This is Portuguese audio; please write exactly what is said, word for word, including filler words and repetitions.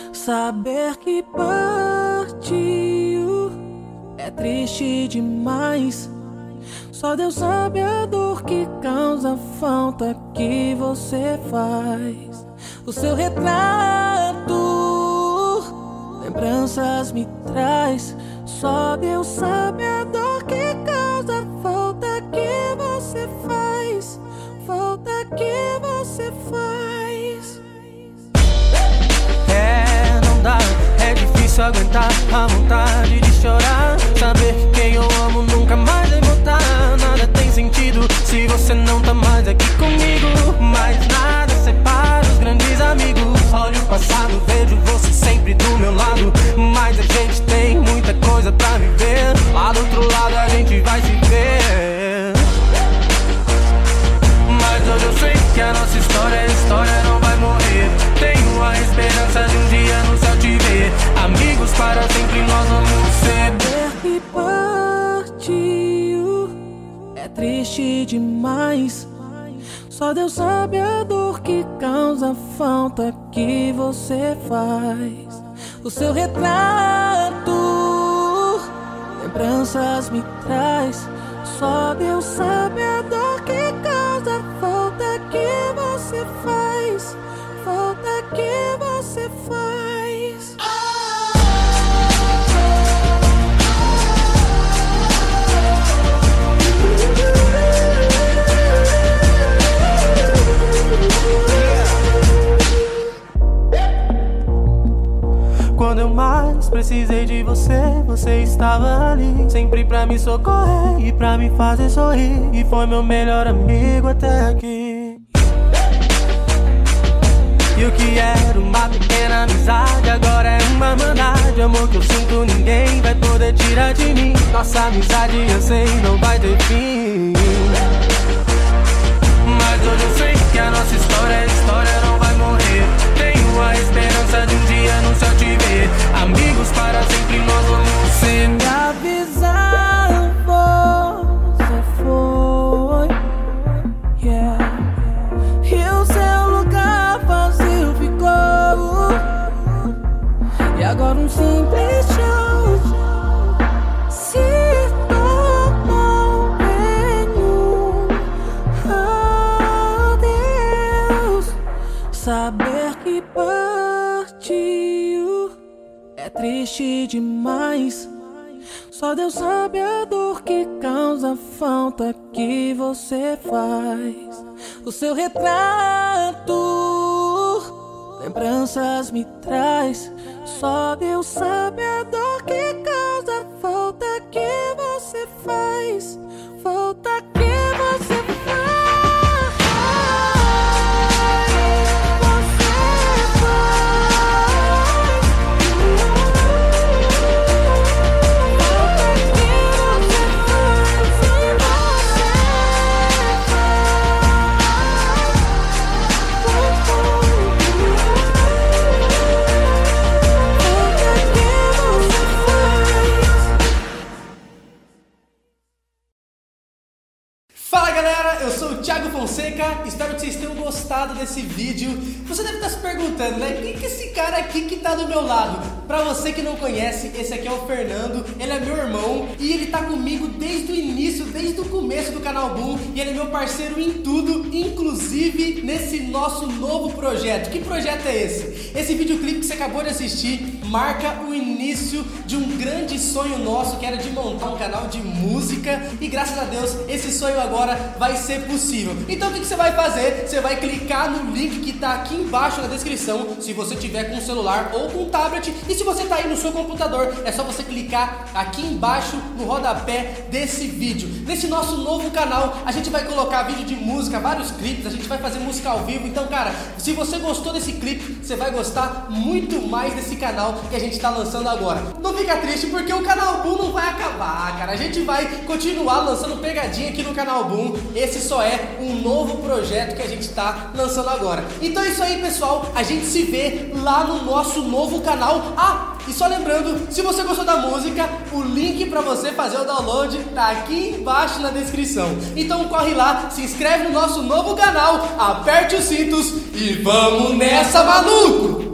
Saber que partiu é triste demais. Só Deus sabe a dor que causa a falta que você faz. O seu retrato, lembranças me traz. Só Deus sabe a dor que causa a falta que você faz. Falta que você faz. É, não dá, é difícil aguentar a vontade de chorar. Saber que quem eu amo nunca mais vai voltar. Nada tem sentido se você não tá mais aqui comigo. Mas nada separa os grandes amigos. Olho o passado, vejo você sempre do meu lado. Mas a gente tem muita coisa pra viver. Lá do outro lado a gente vai se ver. Mas hoje eu sei que a nossa história, a história não vai morrer. Tenho a esperança de um dia no céu te ver. Amigos para sempre nós vamos ser. Saber que partiu é triste demais. Só Deus sabe a dor que causa a falta que você faz. O seu retrato, lembranças me traz. Só Deus sabe a dor que causa a falta que você faz. Falta que você faz. Quando eu mais precisei de você, você estava ali, sempre pra me socorrer e pra me fazer sorrir. E foi meu melhor amigo até aqui. E o que era uma pequena amizade agora é uma mandade. Amor que eu sinto ninguém vai poder tirar de mim. Nossa amizade eu sei não vai ter fim. Mas hoje eu sei que a nossa história, a história não vai morrer. Tenho a esperança de um dia no céu te ver. Amigos para sempre nós vamos ser. Me avisar você foi, yeah. E o seu lugar vazio ficou. E agora um simples tchau se tornou em um adeus. Saber que partiu é triste demais. Só Deus sabe a dor que causa a falta que você faz. O seu retrato, lembranças me traz. Só Deus sabe a dor que causa a falta que você faz. Falta que você faz. Fala galera, eu sou o Thiago Fonseca, espero que vocês tenham gostado desse vídeo. Você deve estar se perguntando, né, quem que é esse cara aqui que tá do meu lado? Pra você que não conhece, esse aqui é o Fernando, ele é meu irmão e ele tá comigo desde o início, desde o começo do canal Boom. E ele é meu parceiro em tudo, inclusive nesse nosso novo projeto. Que projeto é esse? Esse videoclipe que você acabou de assistir marca o início de um grande sonho nosso, que era de montar um canal de música. E graças a Deus, esse sonho agora vai ser possível. Então o que, que você vai fazer? Você vai clicar no link que tá aqui embaixo na descrição, se você tiver com um celular ou com um tablet. E se você tá aí no seu computador, é só você clicar aqui embaixo no rodapé desse vídeo. Nesse nosso novo canal, a gente vai colocar vídeo de música, vários clipes, a gente vai fazer música ao vivo. Então, cara, se você gostou desse clipe, você vai gostar muito mais desse canal que a gente tá lançando agora. Não fica triste porque o canal Boom não vai acabar, cara. A gente vai continuar lançando pegadinha aqui no canal Boom. Esse só é um novo projeto que a gente tá lançando agora. Então é isso aí, pessoal. A gente se vê lá no nosso novo canal. Ah, e só lembrando, se você gostou da música, o link pra você fazer o download tá aqui embaixo na descrição. Então corre lá, se inscreve no nosso novo canal, aperte os cintos e vamos nessa, maluco!